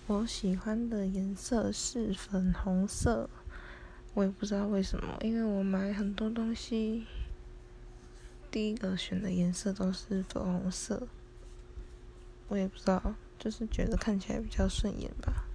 我喜欢的颜色是粉红色，我也不知道为什么，因为我买很多东西，第一个选的颜色都是粉红色，我也不知道，就是觉得看起来比较顺眼吧。